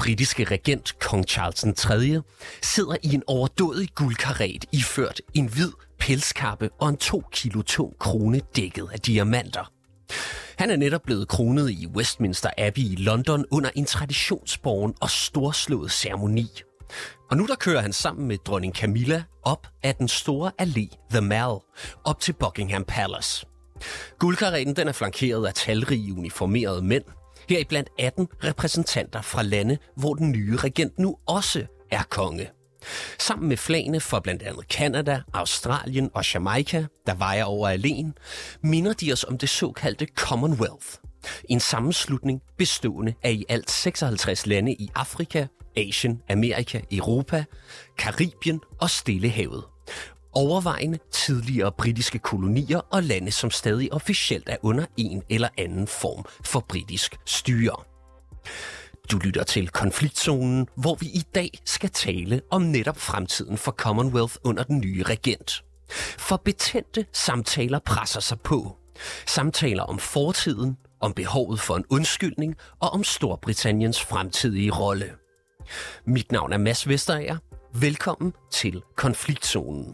britiske regent, kong Charles III, sidder i en overdådig guldkaret iført en hvid pelskappe og en 2 kilo tung krone dækket af diamanter. Han er netop blevet kronet i Westminster Abbey i London under en traditionsbåren og storslået ceremoni. Og nu der kører han sammen med dronning Camilla op ad den store allé The Mall, op til Buckingham Palace. Guldkaretten den er flankeret af talrige uniformerede mænd, heriblandt 18 repræsentanter fra lande, hvor den nye regent nu også er konge. Sammen med flagene for blandt andet Canada, Australien og Jamaica, der vejer over alene, minder de os om det såkaldte Commonwealth. En sammenslutning bestående af i alt 56 lande i Afrika, Asien, Amerika, Europa, Karibien og Stillehavet. Overvejende tidligere britiske kolonier og lande, som stadig officielt er under en eller anden form for britisk styre. Du lytter til Konfliktzonen, hvor vi i dag skal tale om netop fremtiden for Commonwealth under den nye regent. For betændte samtaler presser sig på. Samtaler om fortiden, om behovet for en undskyldning og om Storbritanniens fremtidige rolle. Mit navn er Mads Vesterager. Velkommen til Konfliktzonen.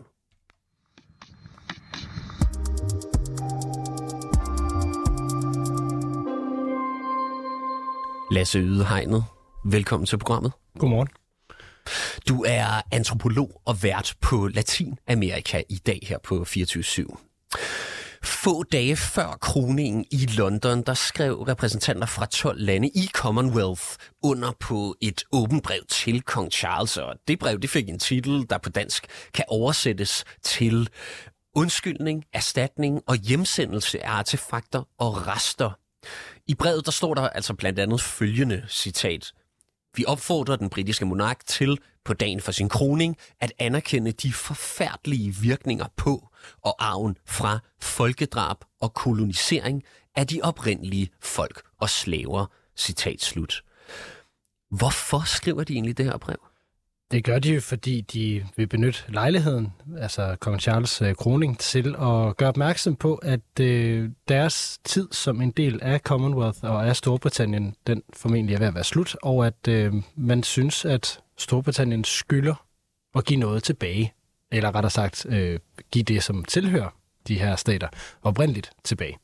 Lasse Ydehegnet, velkommen til programmet. Godmorgen. Du er antropolog og vært på Latinamerika i dag her på 24/7. Få dage før kroningen i London, der skrev repræsentanter fra 12 lande i Commonwealth under på et åbent brev til kong Charles, og det brev det fik en titel, der på dansk kan oversættes til undskyldning, erstatning og hjemsendelse af artefakter og rester. I brevet der står der altså blandt andet følgende citat: Vi opfordrer den britiske monark til på dagen for sin kroning at anerkende de forfærdelige virkninger på og arven fra folkedrab og kolonisering af de oprindelige folk og slaver. Citat slut. Hvorfor skriver de egentlig det her brev? Det gør de jo, fordi de vil benytte lejligheden, altså kong Charles kroning, til at gøre opmærksom på, at deres tid som en del af Commonwealth og af Storbritannien, den formentlig er ved at være slut, og at man synes, at Storbritannien skylder at give noget tilbage, eller rettere sagt, give det, som tilhører de her stater, oprindeligt tilbage.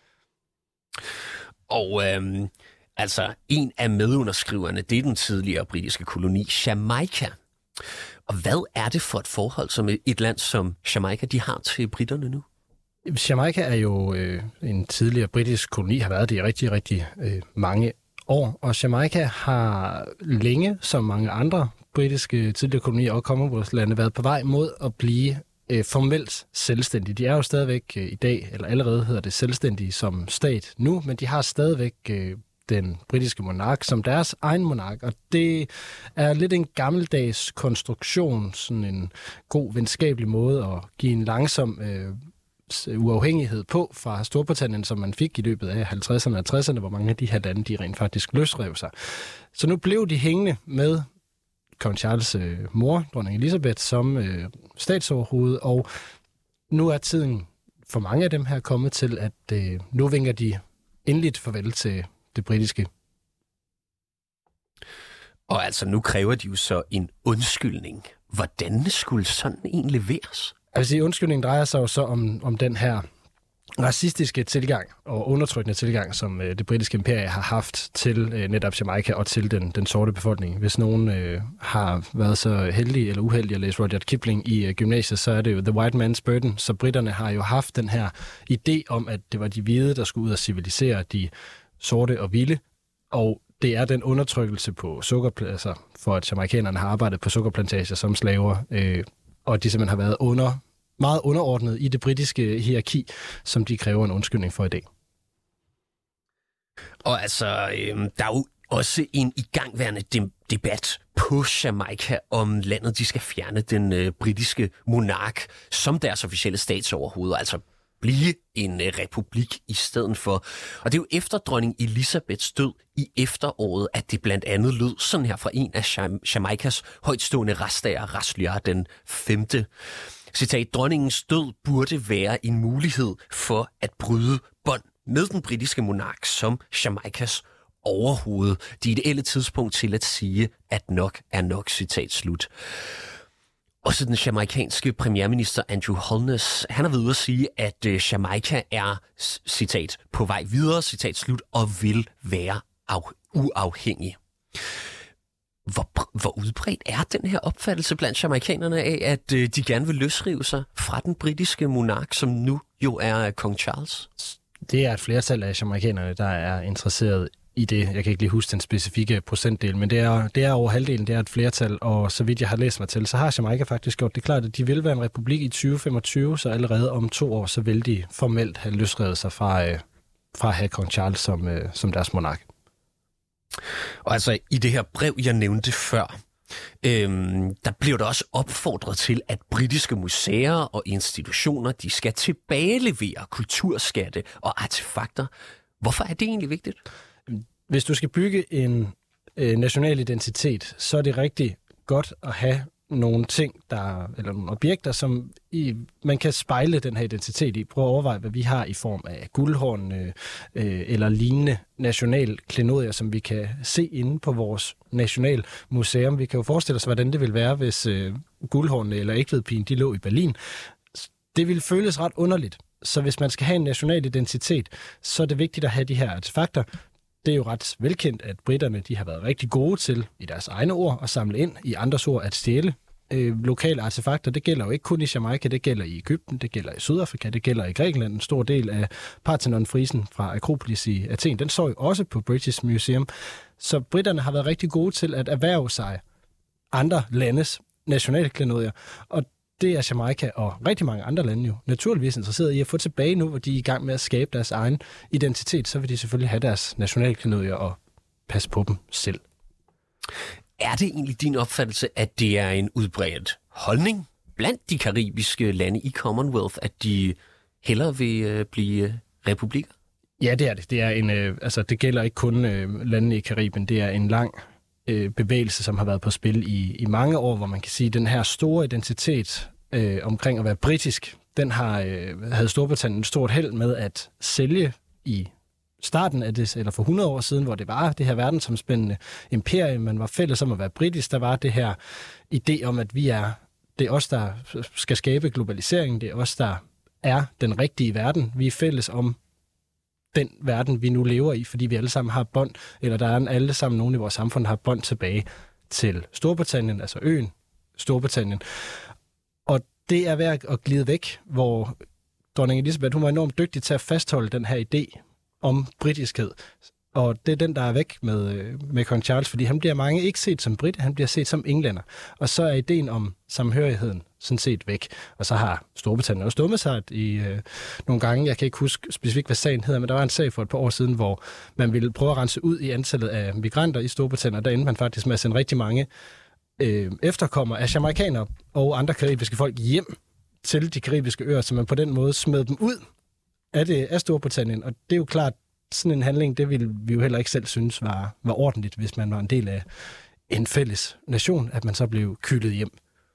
Og altså, en af medunderskriverne, det er den tidligere britiske koloni Jamaica. Og hvad er det for et forhold, som et land som Jamaica, de har til britterne nu? Jamaica er jo en tidligere britisk koloni, har været det i rigtig, rigtig mange år. Og Jamaica har længe, som mange andre britiske tidligere kolonier og Commonwealth-lande, været på vej mod at blive formelt selvstændige. De er jo stadigvæk i dag, eller allerede hedder det selvstændige som stat nu, men de har stadigvæk den britiske monark som deres egen monark, og det er lidt en gammeldags konstruktion, sådan en god venskabelig måde at give en langsom uafhængighed på fra Storbritannien, som man fik i løbet af 50'erne og 60'erne, hvor mange af de her lande, de rent faktisk løsrev sig. Så nu blev de hængende med kong Charles' mor, dronning Elizabeth, som statsoverhoved, og nu er tiden for mange af dem her kommet til, at nu vinker de endeligt farvel til det britiske. Og altså, nu kræver de jo så en undskyldning. Hvordan skulle sådan en leveres? Altså, undskyldningen drejer sig jo så om den her racistiske tilgang og undertrykkende tilgang, som det britiske imperie har haft til netop Jamaica og til den sorte befolkning. Hvis nogen har været så heldige eller uheldige at læse Rudyard Kipling i gymnasiet, så er det jo The White Man's Burden. Så britterne har jo haft den her idé om, at det var de hvide, der skulle ud og civilisere de sorte og vilde, og det er den undertrykkelse på sukkerpladser, for at jamaikanerne har arbejdet på sukkerplantager som slaver, og de simpelthen har været meget underordnet i det britiske hierarki, som de kræver en undskyldning for i dag. Og altså, der er jo også en igangværende debat på Jamaica, om landet de skal fjerne den britiske monark som deres officielle statsoverhoved, altså blive en republik i stedet for. Og det er jo efter dronning Elizabeths død i efteråret, at det blandt andet lød sådan her fra en af Jamaicas højtstående retsdager, Rasliar den 5. Citat: dronningens død burde være en mulighed for at bryde bånd med den britiske monark som Jamaicas overhovedet det ideelle tidspunkt til at sige, at nok er nok, citat slut. Også den jamaikanske premierminister Andrew Holness, han har ved at sige, at Jamaica er, citat, på vej videre, citat slut, og vil være uafhængig. Hvor udbredt er den her opfattelse blandt jamaikanerne af, at de gerne vil løsrive sig fra den britiske monark, som nu jo er kong Charles? Det er et flertal af jamaikanerne, der er interesseret i det. Jeg kan ikke lige huske den specifikke procentdel, men det er over halvdelen, det er et flertal, og så vidt jeg har læst mig til, så har Jamaica faktisk gjort det klart, at de vil være en republik i 2025, så allerede om 2 år, så vil de formelt have løsrevet sig fra at have kong Charles som deres monark. Og altså i det her brev, jeg nævnte før, der blev der også opfordret til, at britiske museer og institutioner, de skal tilbagelevere kulturskatte og artefakter. Hvorfor er det egentlig vigtigt? Hvis du skal bygge en national identitet, så er det rigtig godt at have nogle ting, eller nogle objekter, som man kan spejle den her identitet i. Prøv at overveje, hvad vi har i form af guldhorn eller lignende nationalklenodier, som vi kan se inde på vores nationalmuseum. Vi kan jo forestille os, hvordan det ville være, hvis guldhornene eller Egtvedpigen, de lå i Berlin. Det ville føles ret underligt. Så hvis man skal have en national identitet, så er det vigtigt at have de her artefakter. Det er jo ret velkendt, at britterne de har været rigtig gode til, i deres egne ord, at samle ind, i andres ord at stjæle lokale artefakter. Det gælder jo ikke kun i Jamaica, det gælder i Egypten, det gælder i Sydafrika, det gælder i Grækenland. En stor del af Parthenon-frisen fra Akropolis i Athen, den står jo også på British Museum. Så britterne har været rigtig gode til at erhverve sig andre landes nationalklenodier, og det er Jamaica og rigtig mange andre lande jo naturligvis interesseret i at få tilbage nu, hvor de er i gang med at skabe deres egen identitet, så vil de selvfølgelig have deres nationalklenodier og passe på dem selv. Er det egentlig din opfattelse, at det er en udbredt holdning blandt de karibiske lande i Commonwealth, at de hellere vil blive republikker? Ja, det er det. Det er det gælder ikke kun landene i Karibien. Det er en lang bevægelse, som har været på spil i mange år, hvor man kan sige, at den her store identitet omkring at være britisk, den havde Storbritannien et stort held med at sælge i starten af det, eller for 100 år siden, hvor det var det her verdensomspændende imperium, man var fælles om at være britisk, der var det her idé om, at det er os, der skal skabe globaliseringen, det er os, der er den rigtige verden, vi er fælles om den verden, vi nu lever i, fordi vi alle sammen har bånd, eller der er alle sammen nogen i vores samfund, der har bånd tilbage til Storbritannien, altså øen Storbritannien. Og det er ved at glide væk, hvor dronning Elizabeth, hun var enormt dygtig til at fastholde den her idé om britiskhed. Og det er den, der er væk med kong Charles, fordi han bliver mange ikke set som brit, han bliver set som englænder. Og så er ideen om samhørigheden sådan set væk. Og så har Storbritannien også dummet sig i nogle gange, jeg kan ikke huske specifikt, hvad sagen hedder, men der var en sag for et par år siden, hvor man ville prøve at rense ud i antallet af migranter i Storbritannien, og der endte man faktisk med at sende rigtig mange efterkommere af jamaikanere og andre karibiske folk hjem til de karibiske øer, så man på den måde smed dem ud af Storbritannien. Og det er jo klart, sådan en handling, det ville vi jo heller ikke selv synes var ordentligt, hvis man var en del af en fælles nation, at man så blev kylet hjem.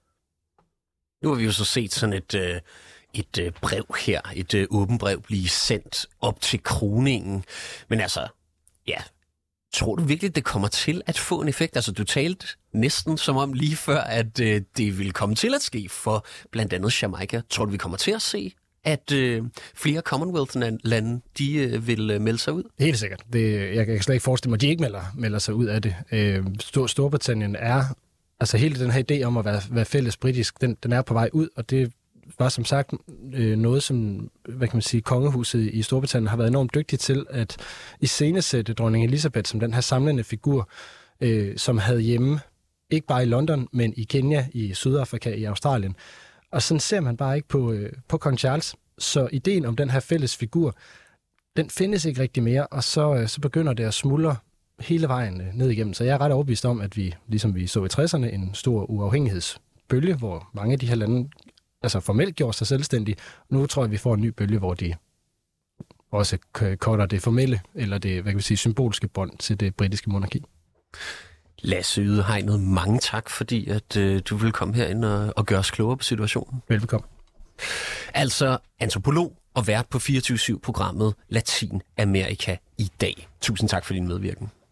Nu har vi jo så set sådan et brev her, et åbent brev blive sendt op til kroningen. Men altså, ja, tror du virkelig, det kommer til at få en effekt? Altså, du talte næsten som om lige før, at det ville komme til at ske for blandt andet Jamaica. Tror du, vi kommer til at se, at flere Commonwealth-lande, de vil melde sig ud? Helt sikkert. Jeg kan slet ikke forestille mig, at de ikke melder sig ud af det. Storbritannien er, altså hele den her idé om at være fælles britisk, den er på vej ud, og det var som sagt noget, som, hvad kan man sige, kongehuset i Storbritannien har været enormt dygtigt til at iscenesætte dronning Elizabeth som den her samlende figur, som havde hjemme, ikke bare i London, men i Kenya, i Sydafrika, i Australien. Og sådan ser man bare ikke på kong Charles. Så ideen om den her fælles figur, den findes ikke rigtig mere, og så begynder det at smuldre hele vejen ned igennem. Så jeg er ret overbevist om, at vi, ligesom vi så i 60'erne, en stor uafhængighedsbølge, hvor mange af de her lande altså formelt gjorde sig selvstændige. Nu tror jeg, vi får en ny bølge, hvor de også cutter det formelle, eller det, hvad kan vi sige, symbolske bånd til det britiske monarki. Lasse Ydehegnet, mange tak, fordi at du vil komme herind og gøre os klogere på situationen. Velbekomme. Altså antropolog og vært på 24/7-programmet Latinamerika i dag. Tusind tak for din medvirken.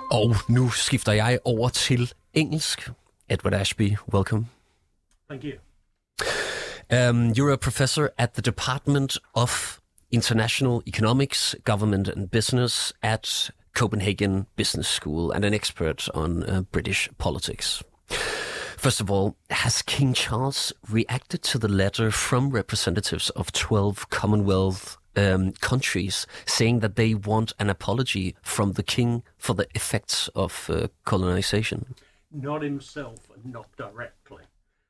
Og nu skifter jeg over til engelsk. Edward Ashby, welcome. Thank you. You're a professor at the Department of International Economics, Government and Business at Copenhagen Business School and an expert on British politics. First of all, has King Charles reacted to the letter from representatives of 12 Commonwealth countries saying that they want an apology from the king for the effects of colonization? Not himself and not directly.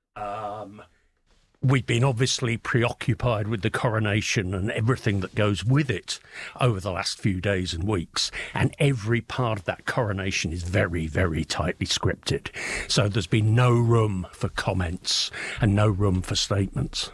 We've been obviously preoccupied with the coronation and everything that goes with it over the last few days and weeks. And every part of that coronation is very, very tightly scripted. So there's been no room for comments and no room for statements.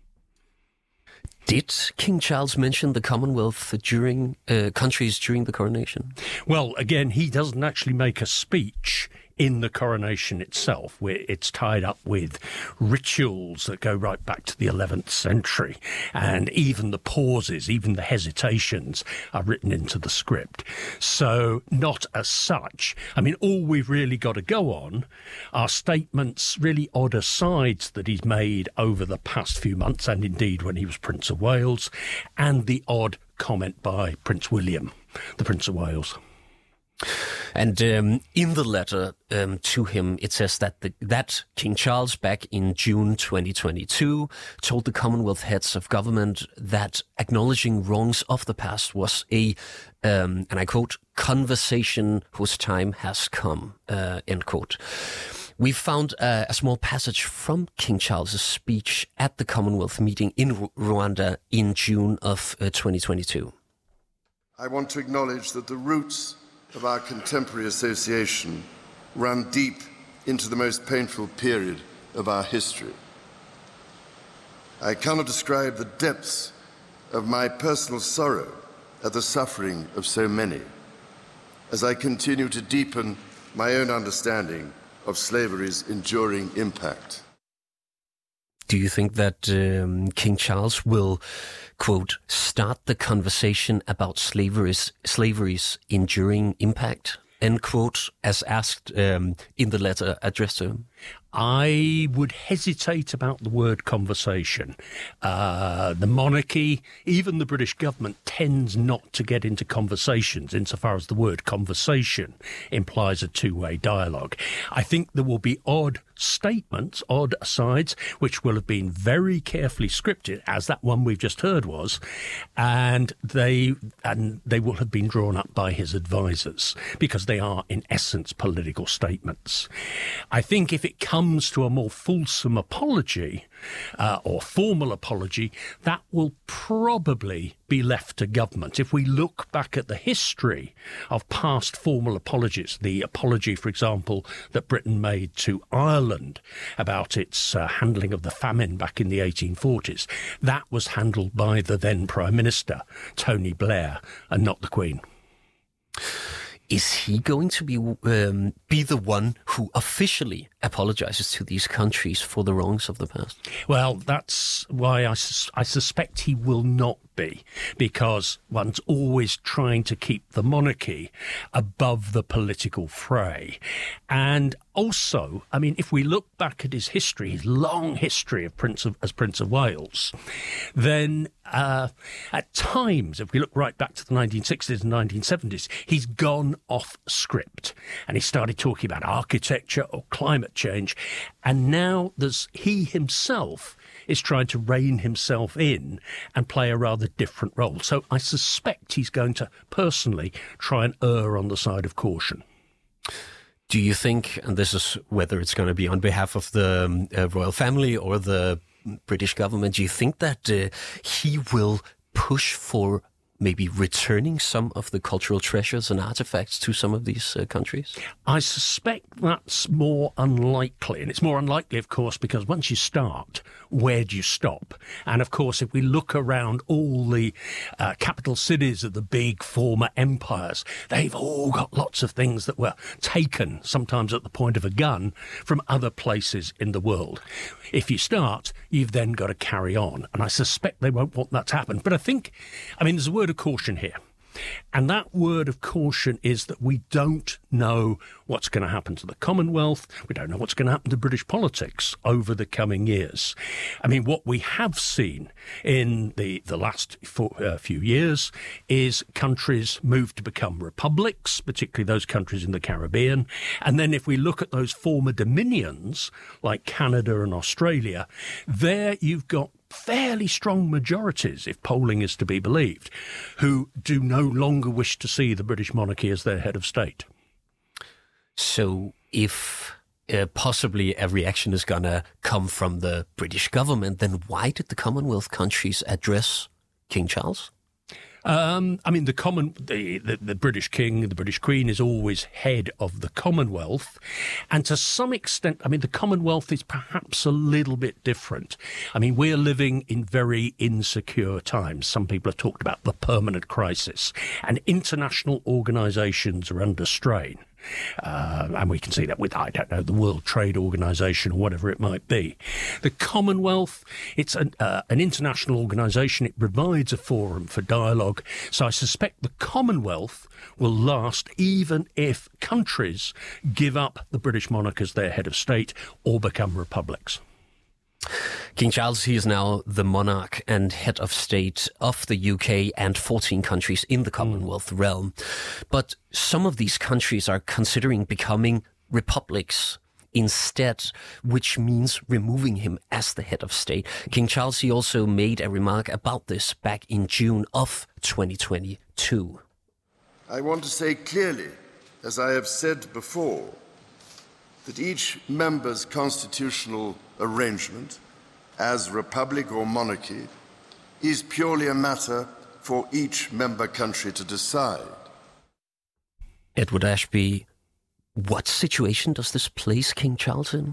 Did King Charles mention the Commonwealth countries during the coronation? Well, again, he doesn't actually make a speech in the coronation itself, where it's tied up with rituals that go right back to the 11th century. And even the pauses, even the hesitations are written into the script. So not as such. I mean, all we've really got to go on are statements, really odd asides that he's made over the past few months, and indeed when he was Prince of Wales, and the odd comment by Prince William, the Prince of Wales. And in the letter to him, it says that King Charles, back in June 2022, told the Commonwealth heads of government that acknowledging wrongs of the past was a, and I quote, conversation whose time has come, end quote. We found a small passage from King Charles's speech at the Commonwealth meeting in Rwanda in June of 2022. I want to acknowledge that the roots of our contemporary association run deep into the most painful period of our history. I cannot describe the depths of my personal sorrow at the suffering of so many, as I continue to deepen my own understanding of slavery's enduring impact. Do you think that King Charles will, quote, start the conversation about slavery's enduring impact, end quote, as asked in the letter addressed to him? I would hesitate about the word conversation. The monarchy, even the British government, tends not to get into conversations insofar as the word conversation implies a two-way dialogue. I think there will be odd statements, odd asides, which will have been very carefully scripted, as that one we've just heard was, and they will have been drawn up by his advisors, because they are, in essence, political statements. I think if it comes to a more fulsome apology or formal apology, that will probably be left to government. If we look back at the history of past formal apologies, the apology, for example, that Britain made to Ireland about its handling of the famine back in the 1840s, that was handled by the then Prime Minister, Tony Blair, and not the Queen. Is he going to be the one who officially apologizes to these countries for the wrongs of the past? Well, that's why I suspect he will not be, because one's always trying to keep the monarchy above the political fray. And also, I mean, if we look back at his history, his long history as Prince of Wales, then at times, if we look right back to the 1960s and 1970s, he's gone off script and he started talking about architecture or climate change. And now he himself is trying to rein himself in and play a rather different role. So I suspect he's going to personally try and err on the side of caution. Do you think, and this is whether it's going to be on behalf of the royal family or the British government, do you think that he will push for maybe returning some of the cultural treasures and artifacts to some of these countries? I suspect that's more unlikely. And it's more unlikely, of course, because once you start, where do you stop? And, of course, if we look around all the capital cities of the big former empires, they've all got lots of things that were taken, sometimes at the point of a gun, from other places in the world. If you start, you've then got to carry on. And I suspect they won't want that to happen. But I think, I mean, there's a word of caution here. And that word of caution is that we don't know what's going to happen to the Commonwealth. We don't know what's going to happen to British politics over the coming years. I mean, what we have seen in the last few years is countries move to become republics, particularly those countries in the Caribbean. And then if we look at those former dominions, like Canada and Australia, there you've got fairly strong majorities, if polling is to be believed, who do no longer wish to see the British monarchy as their head of state. So if possibly a reaction is going to come from the British government, then why did the Commonwealth countries address King Charles? I mean, the British King, the British Queen is always head of the Commonwealth. And to some extent, I mean, the Commonwealth is perhaps a little bit different. I mean, we're living in very insecure times. Some people have talked about the permanent crisis, and international organisations are under strain. And we can see that with, I don't know, the World Trade Organization or whatever it might be. The Commonwealth, it's an international organisation. It provides a forum for dialogue. So I suspect the Commonwealth will last even if countries give up the British monarch as their head of state or become republics. King Charles, he is now the monarch and head of state of the UK and 14 countries in the Commonwealth realm. But some of these countries are considering becoming republics instead, which means removing him as the head of state. King Charles, he also made a remark about this back in June of 2022. I want to say clearly, as I have said before, that each member's constitutional arrangement, as republic or monarchy, is purely a matter for each member country to decide. Edward Ashby, what situation does this place King Charles in?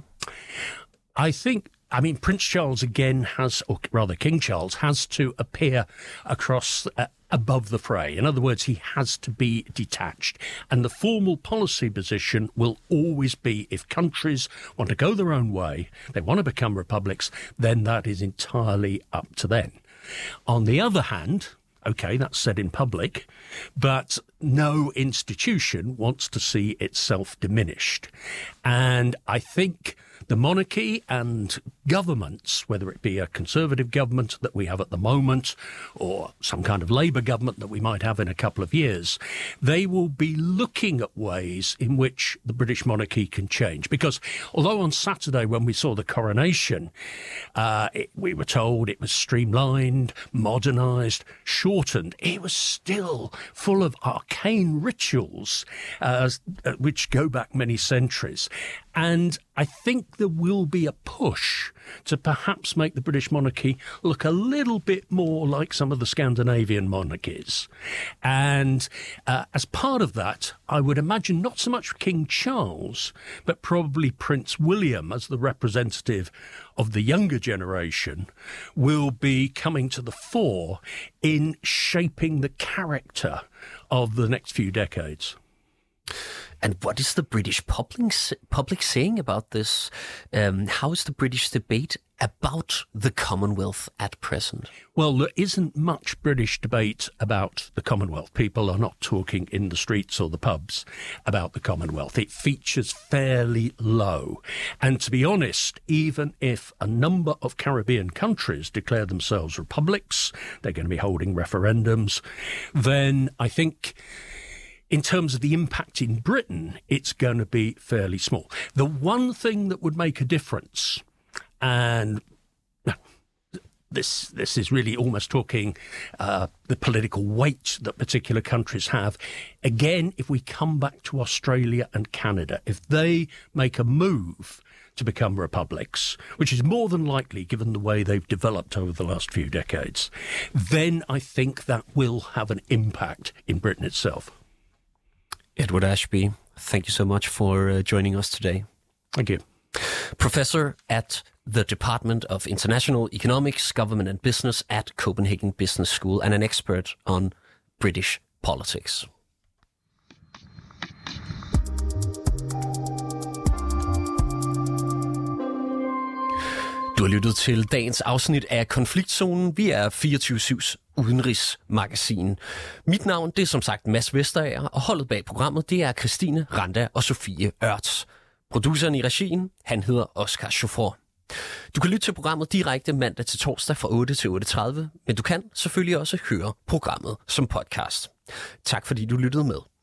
I mean, Prince Charles again has, or rather King Charles, has to appear across above the fray. In other words, he has to be detached. And the formal policy position will always be, if countries want to go their own way, they want to become republics, then that is entirely up to them. On the other hand, OK, that's said in public, but no institution wants to see itself diminished. And I think the monarchy and governments, whether it be a Conservative government that we have at the moment or some kind of Labour government that we might have in a couple of years, they will be looking at ways in which the British monarchy can change. Because although on Saturday when we saw the coronation, we were told it was streamlined, modernised, shortened, it was still full of arcane rituals which go back many centuries. And I think there will be a push to perhaps make the British monarchy look a little bit more like some of the Scandinavian monarchies. And as part of that, I would imagine not so much King Charles, but probably Prince William as the representative of the younger generation will be coming to the fore in shaping the character of the next few decades. And what is the British public saying about this? How is the British debate about the Commonwealth at present? Well, there isn't much British debate about the Commonwealth. People are not talking in the streets or the pubs about the Commonwealth. It features fairly low. And to be honest, even if a number of Caribbean countries declare themselves republics, they're going to be holding referendums, then I think in terms of the impact in Britain, it's going to be fairly small. The one thing that would make a difference, and this is really almost talking the political weight that particular countries have. Again, if we come back to Australia and Canada, if they make a move to become republics, which is more than likely given the way they've developed over the last few decades, then I think that will have an impact in Britain itself. Edward Ashby, thank you so much for joining us today. Thank you. Professor at the Department of International Economics, Government and Business at Copenhagen Business School and an expert on British politics. Du har lyttet til dagens afsnit af Konfliktzonen. Vi er 24/7's udenrigsmagasin. Mit navn, det er som sagt Mads Vesterager, og holdet bag programmet, det er Christine Randa og Sofie Ørts. Produceren i regien, han hedder Oscar Chauffeur. Du kan lytte til programmet direkte mandag til torsdag fra 8 til 8:30, men du kan selvfølgelig også høre programmet som podcast. Tak fordi du lyttede med.